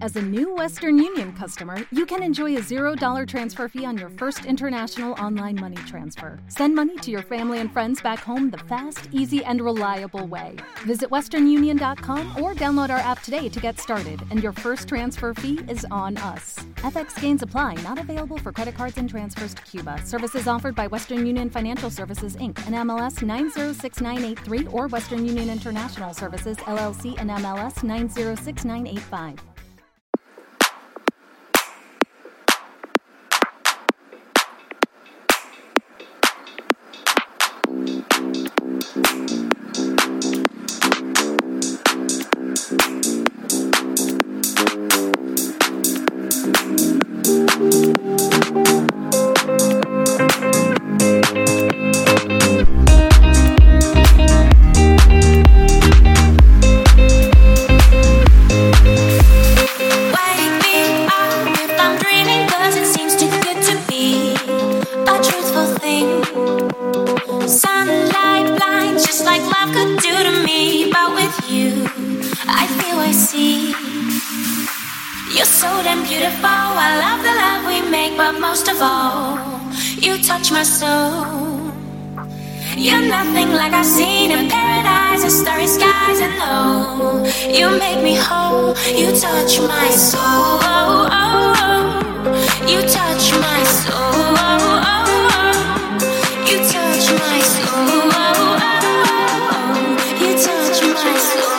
As a new Western Union customer, you can enjoy a $0 transfer fee on your first international online money transfer. Send money to your family and friends back home the fast, easy, and reliable way. Visit westernunion.com or download our app today to get started, and your first transfer fee is on us. FX gains apply, not available for credit cards and transfers to Cuba. Services offered by Western Union Financial Services, Inc., and MLS 906983, or Western Union International Services, LLC, and MLS 906985. My soul, you're nothing like I've seen in paradise and starry skies, and oh, you make me whole. You touch my soul, you touch my soul, you touch my soul, you touch my soul.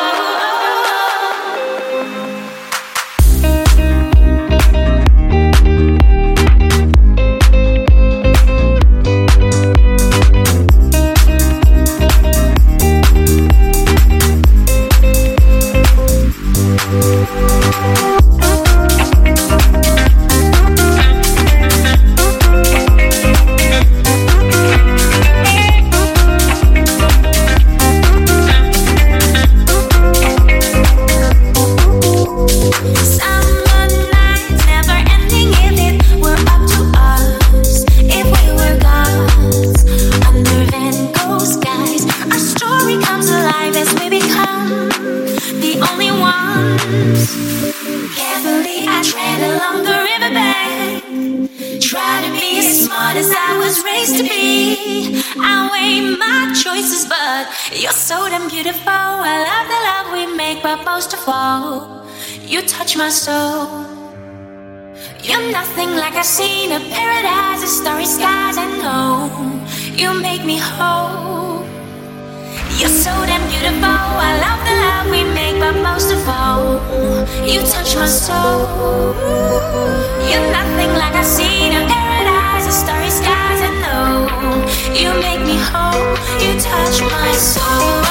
You're so damn beautiful. I love the love we make, but most of all, you touch my soul. You're nothing like I've seen in paradise and starry skies. I know you make me whole. You're so damn beautiful. I love the love we make, but most of all, you touch my soul. You're nothing like I've seen in paradise and starry skies. I know you make me whole. You touch my soul.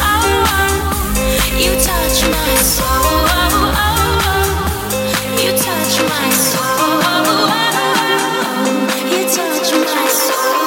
You touch my soul. You touch my soul. You touch my soul.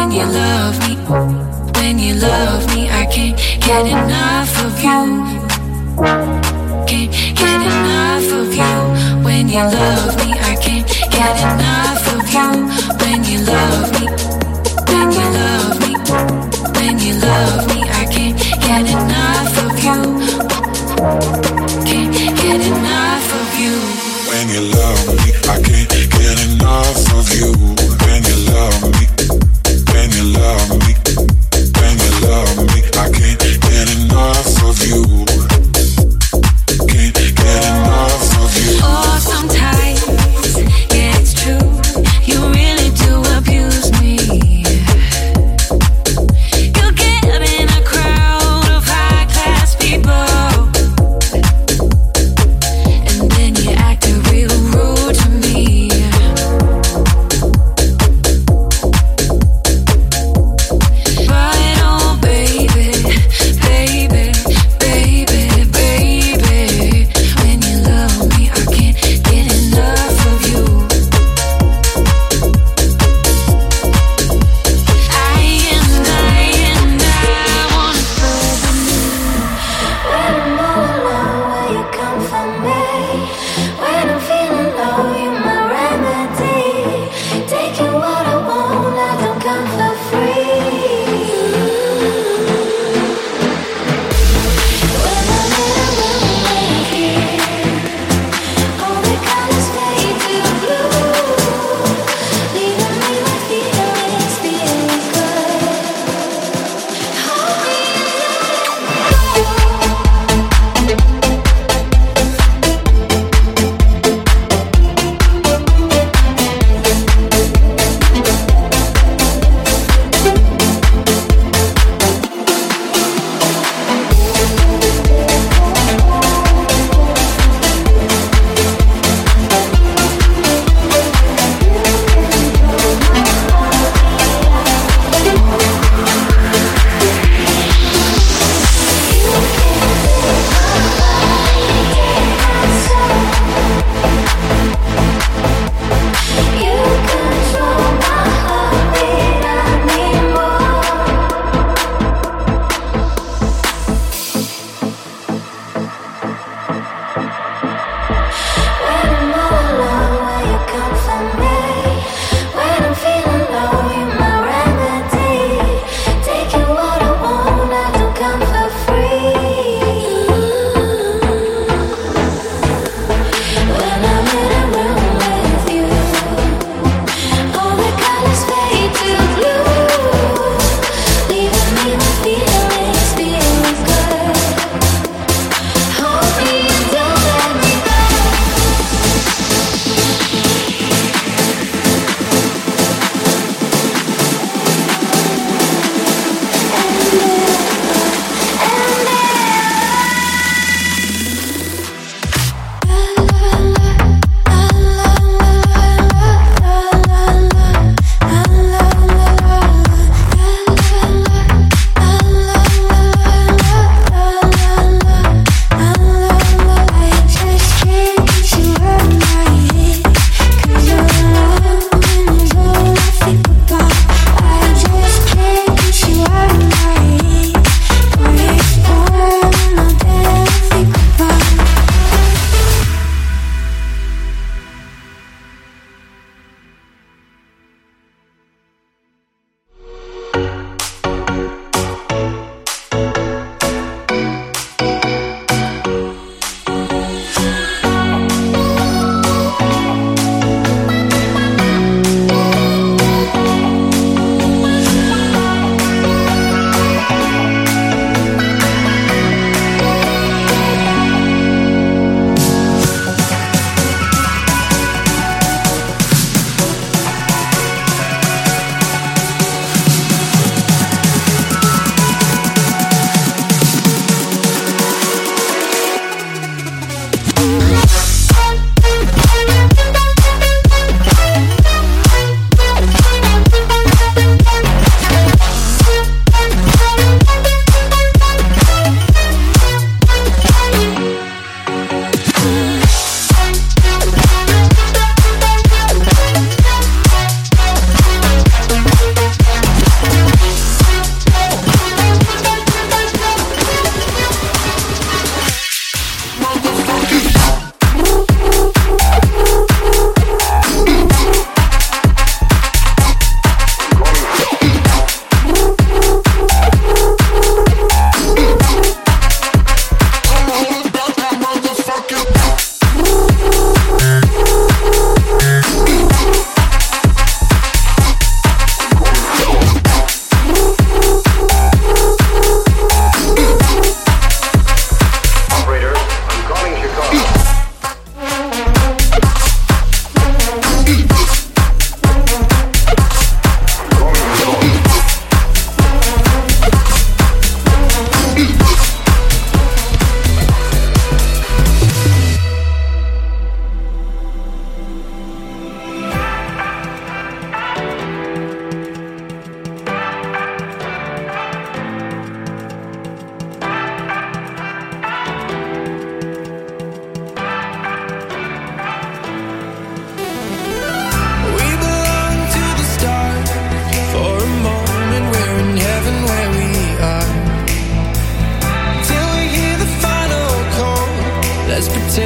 when you love me. When you love me, I can't get enough of you. Can't get enough of you. When you love me, I can't get enough of you. When you love me. When you love me. When you love me, I can't get enough of you. Can't get enough of you. When you love me, I can't get enough of you. When you love me. When you love me. When you love me, I can't get enough of you. Can't get enough of you. Oh, sometimes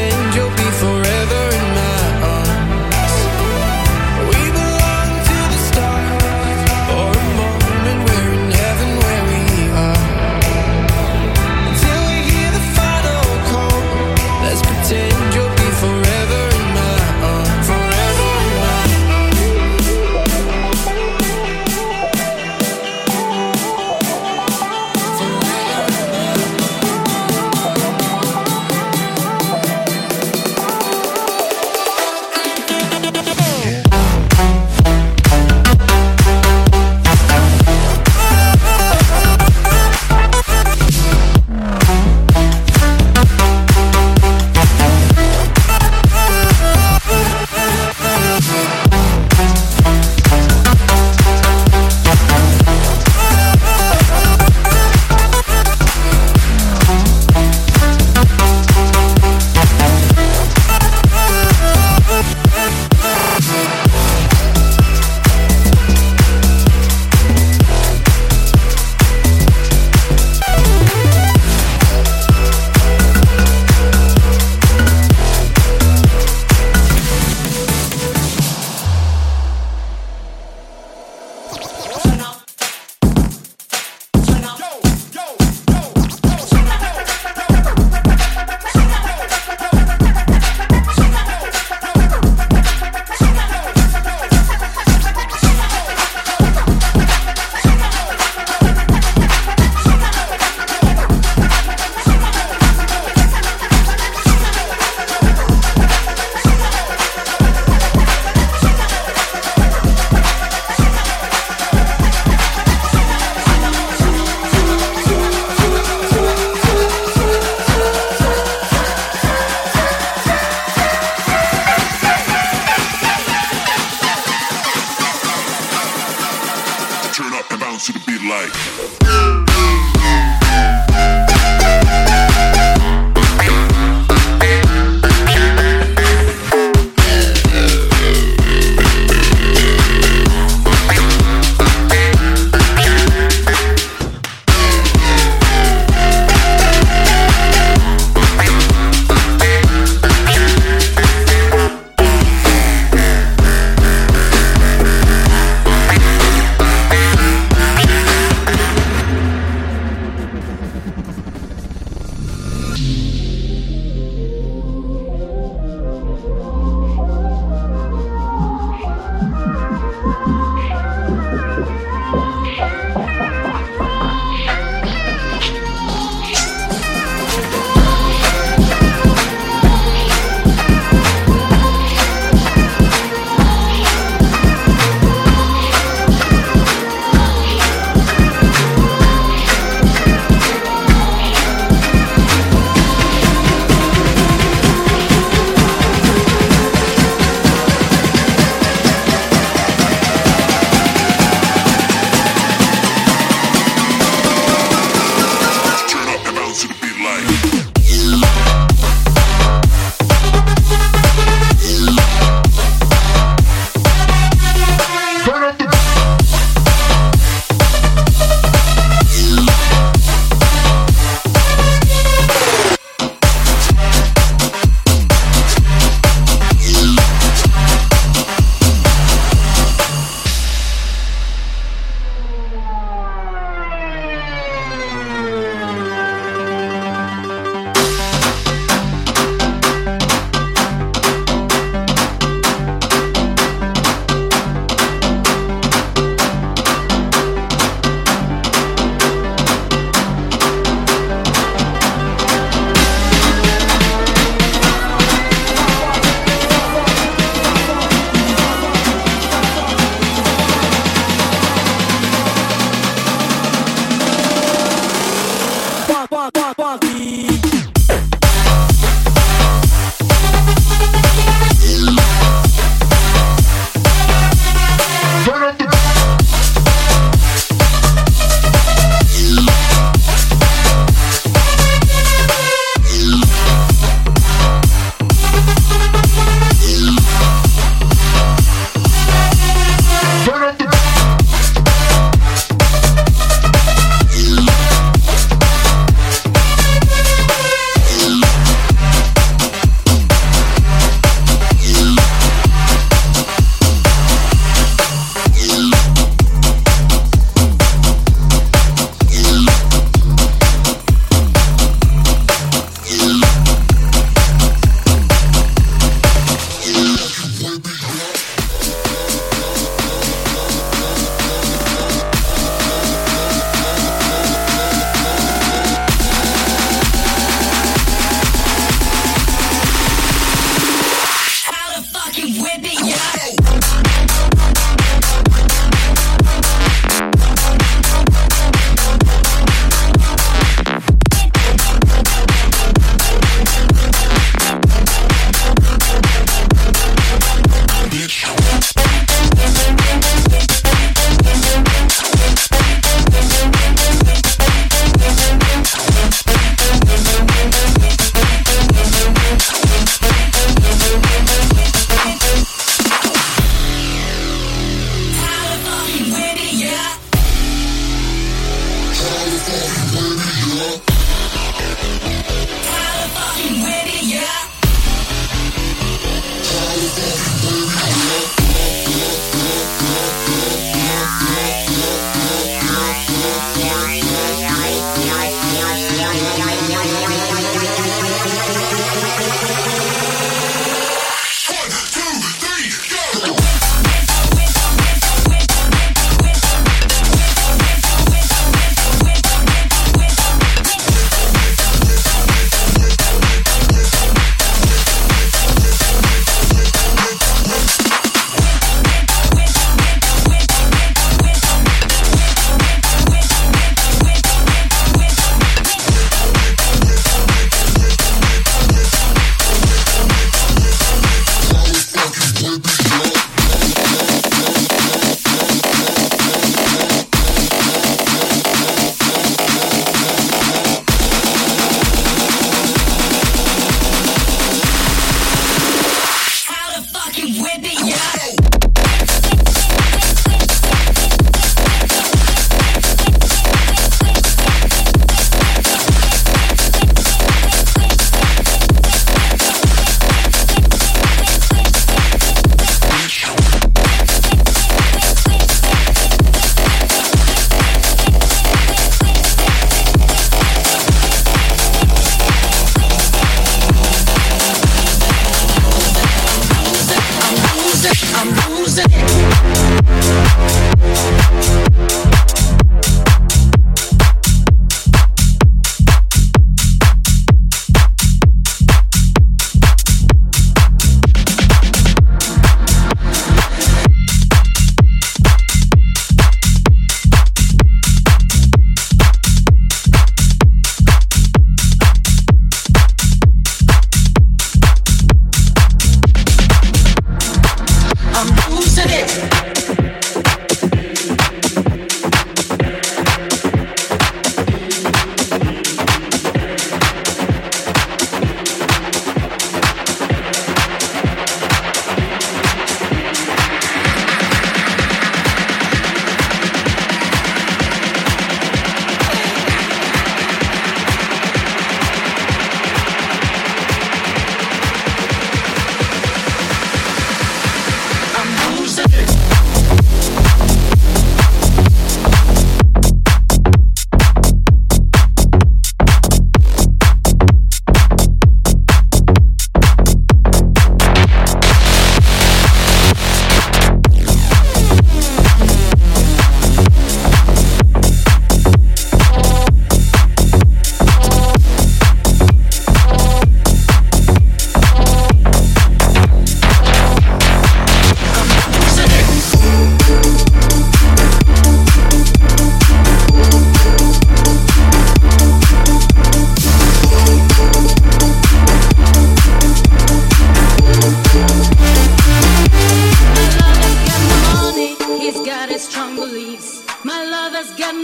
pretend you'll be forever in my arms. We belong to the stars. For a moment we're in heaven where we are. Until we hear the final call, let's pretend you'll be forever in my arms. Forever in my Turn up and bounce to the beat like.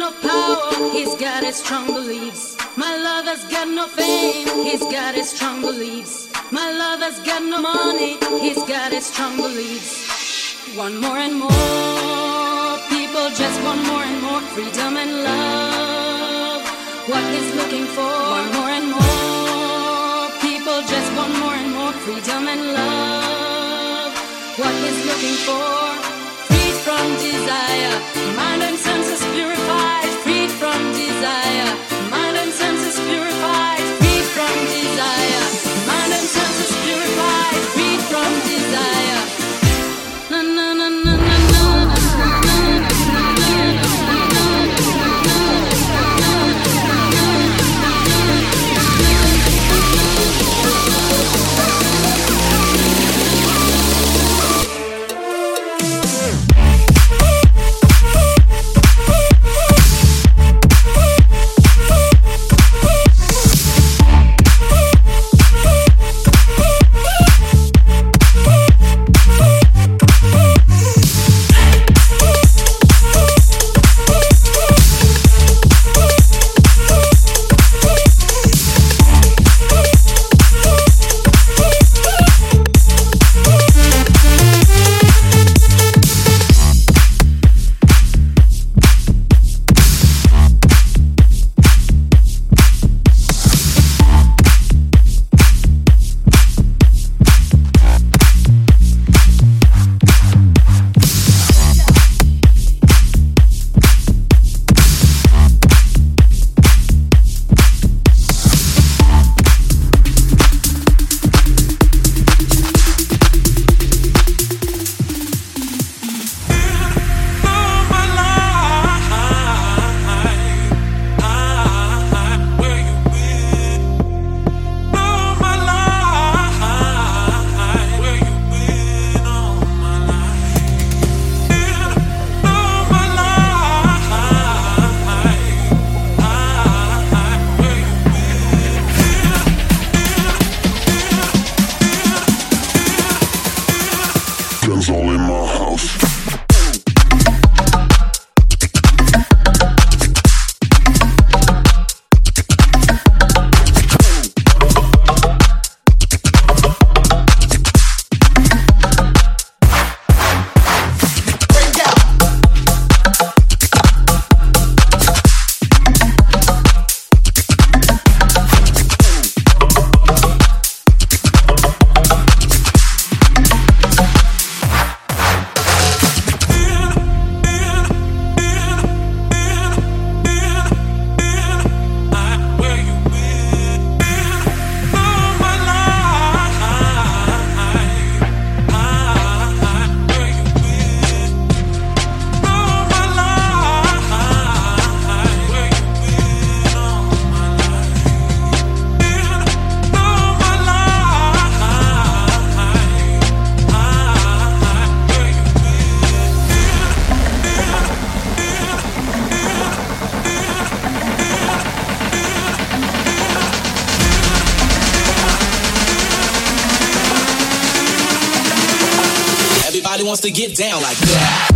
no power, he's got his strong beliefs. My lover's got no fame, he's got his strong beliefs. My lover's got no money, he's got his strong beliefs. Want more and more, people just want more and more freedom and love. What he's looking for, want more and more, people just want more and more freedom and love. What he's looking for, freed from desire, mind and senses purified, freed from desire, mind and senses purified, freed from desire, mind and senses purified, freed from desire. Na na na na na na. All in my house. Everybody wants to get down like that.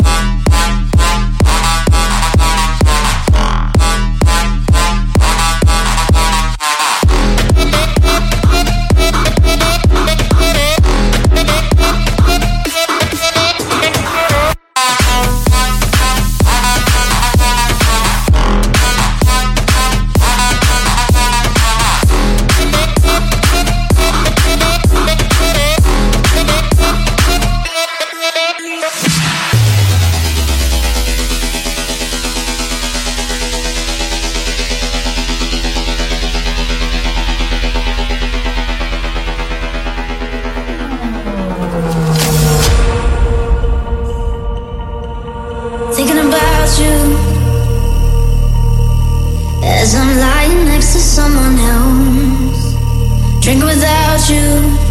Thinking about you as I'm lying next to someone else, drinking without you.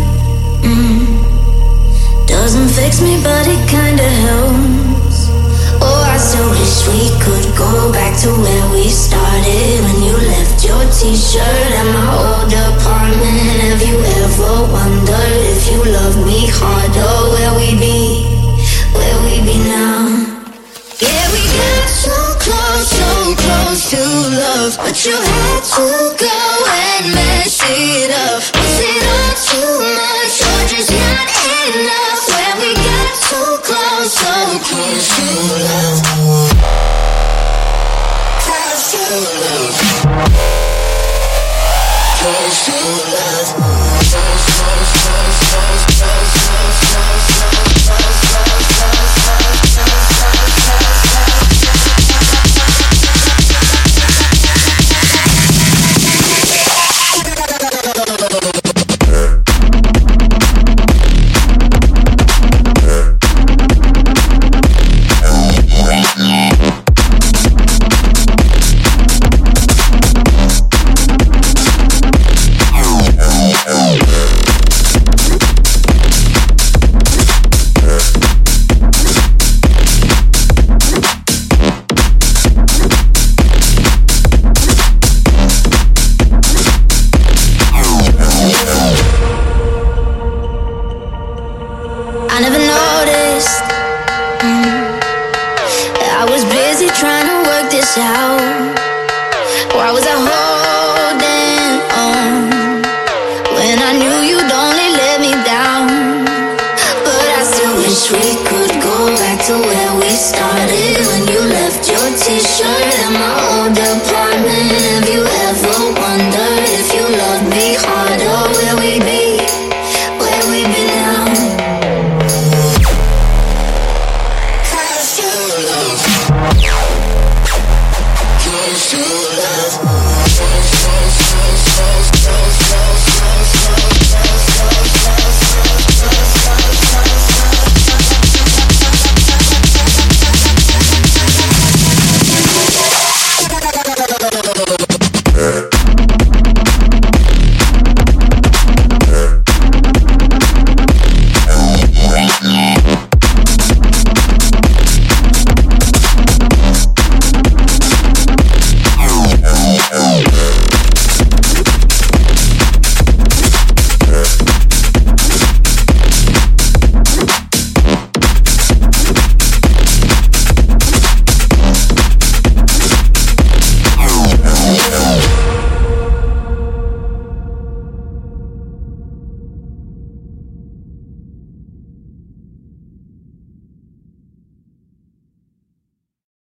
Doesn't fix me, but it kinda helps. Oh, I still wish we could go back to where we started, when you left your t-shirt at my old apartment. Have you ever wondered if you loved me harder, where we'd be now? Yeah, we got so close, so love, but you had to go and mess it up. Was it all too much or just not enough? When we got too close, so close to love, close to love, close to love, close, close, close, close, close, close, close, close, close, close, out. Why was I home?